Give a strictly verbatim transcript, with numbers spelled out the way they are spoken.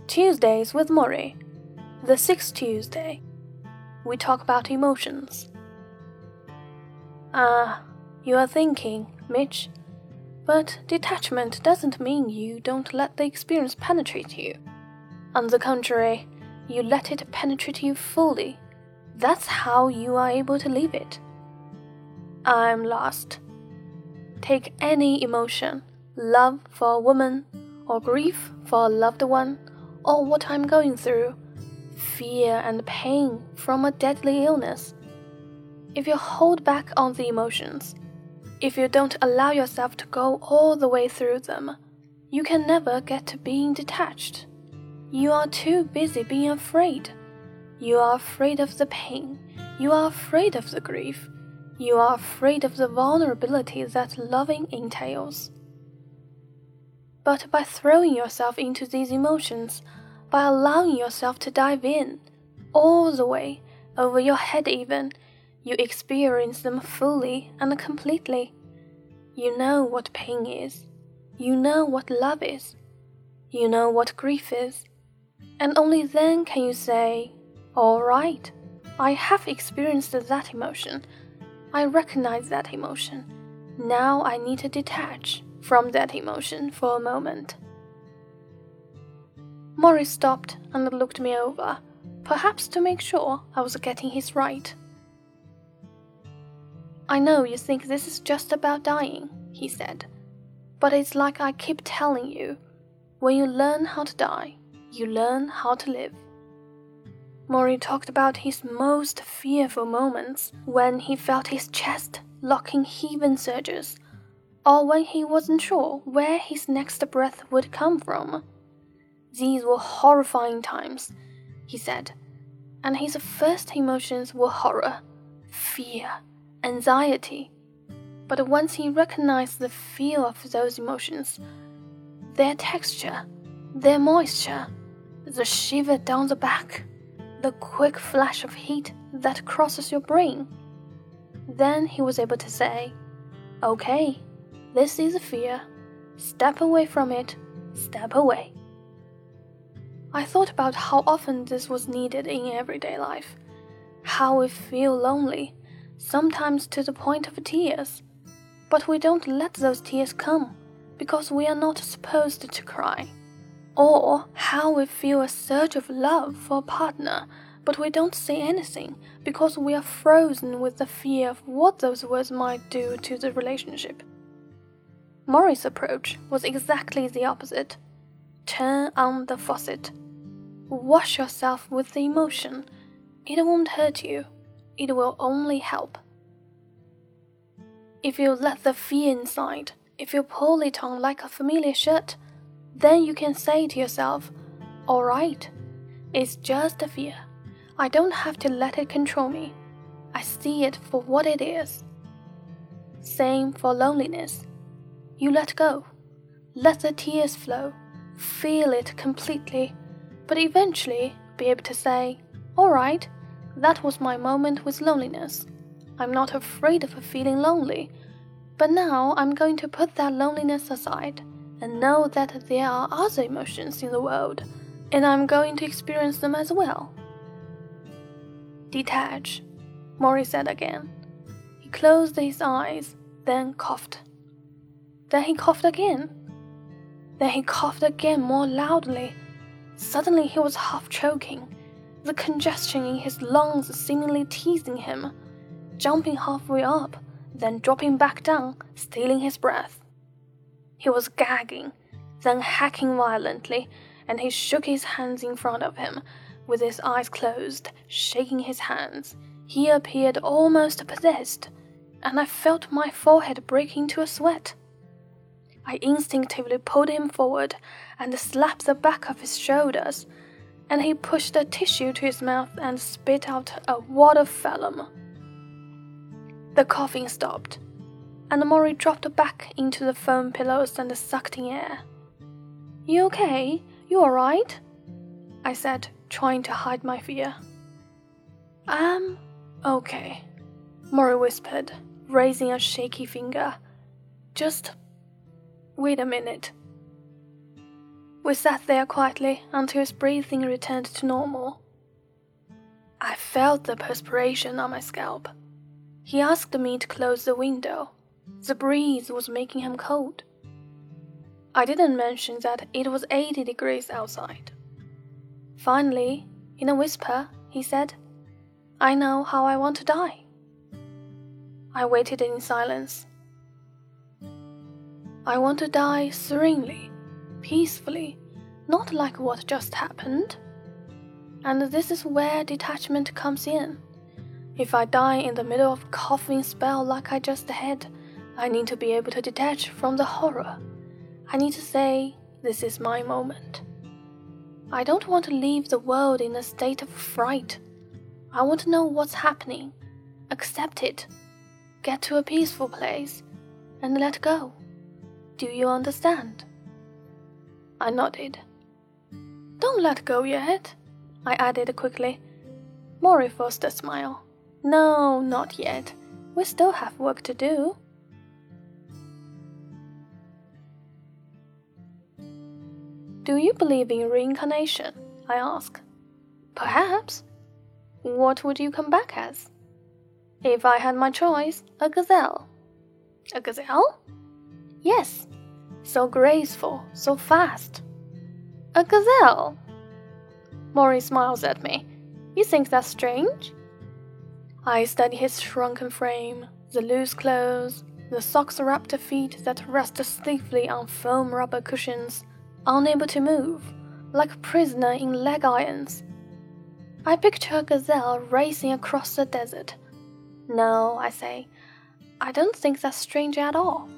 Tuesdays with Maury. The sixth Tuesday. We talk about emotions. Ah, uh, you are thinking, Mitch, but detachment doesn't mean you don't let the experience penetrate you. On the contrary, you let it penetrate you fully. That's how you are able to leave it. I'm lost. Take any emotion, love for a woman, or grief for a loved one, or what I'm going through, fear and pain from a deadly illness. If you hold back on the emotions, if you don't allow yourself to go all the way through them, you can never get to being detached. You are too busy being afraid. You are afraid of the pain. You are afraid of the grief. You are afraid of the vulnerability that loving entails. But by throwing yourself into these emotions, by allowing yourself to dive in, all the way, over your head even, you experience them fully and completely. You know what pain is. You know what love is. You know what grief is. And only then can you say, all right, I have experienced that emotion. I recognize that emotion. Now I need to detach from that emotion for a moment. Maury stopped and looked me over, perhaps to make sure I was getting his right. I know you think this is just about dying, he said, but it's like I keep telling you, when you learn how to die, you learn how to live. Maury talked about his most fearful moments when he felt his chest locking heaving surges, or when he wasn't sure where his next breath would come from. These were horrifying times, he said, and his first emotions were horror, fear, anxiety. But once he recognized the feel of those emotions, their texture, their moisture, the shiver down the back, the quick flash of heat that crosses your brain, then he was able to say, okay, this is a fear. Step away from it. Step away. I thought about how often this was needed in everyday life, how we feel lonely, sometimes to the point of tears, but we don't let those tears come because we are not supposed to cry. Or how we feel a surge of love for a partner, but we don't say anything because we are frozen with the fear of what those words might do to the relationship. Maury's approach was exactly the opposite. Turn on the faucet. Wash yourself with the emotion. It won't hurt you. It will only help. If you let the fear inside, if you pull it on like a familiar shirt, then you can say to yourself, all right, it's just a fear. I don't have to let it control me. I see it for what it is. Same for loneliness. You let go. Let the tears flow. Feel it completely. But eventually be able to say, all right, that was my moment with loneliness. I'm not afraid of feeling lonely. But now I'm going to put that loneliness aside and know that there are other emotions in the world, and I'm going to experience them as well. Detach, Maury said again. He closed his eyes, then coughed. Then he coughed again. Then he coughed again more loudly. Suddenly he was half choking, the congestion in his lungs seemingly teasing him, jumping halfway up, then dropping back down, stealing his breath. He was gagging, then hacking violently, and he shook his hands in front of him, with his eyes closed, shaking his hands. He appeared almost possessed, and I felt my forehead break into a sweat. I instinctively pulled him forward and slapped the back of his shoulders, and he pushed a tissue to his mouth and spit out a wad of phlegm. The coughing stopped, and Maury dropped back into the foam pillows and sucked in air. You okay? You alright? I said, trying to hide my fear. I'm okay, Maury whispered, raising a shaky finger. Just wait a minute. We sat there quietly until his breathing returned to normal. I felt the perspiration on my scalp. He asked me to close the window. The breeze was making him cold. I didn't mention that it was eighty degrees outside. Finally, in a whisper, he said, "I know how I want to die." I waited in silence. I want to die serenely, peacefully, not like what just happened. And this is where detachment comes in. If I die in the middle of a coughing spell like I just had, I need to be able to detach from the horror. I need to say, this is my moment. I don't want to leave the world in a state of fright. I want to know what's happening, accept it, get to a peaceful place, and let go. Do you understand? I nodded. Don't let go yet, I added quickly. Mori forced a smile. No, not yet. We still have work to do. Do you believe in reincarnation? I asked. Perhaps. What would you come back as? If I had my choice, a gazelle. A gazelle? Yes. So graceful, so fast. A gazelle. Mori smiles at me. You think that's strange? I study his shrunken frame, the loose clothes, the socks-wrapped feet that rest stiffly on foam rubber cushions, unable to move, like a prisoner in leg irons. I picture a gazelle racing across the desert. No, I say, I don't think that's strange at all.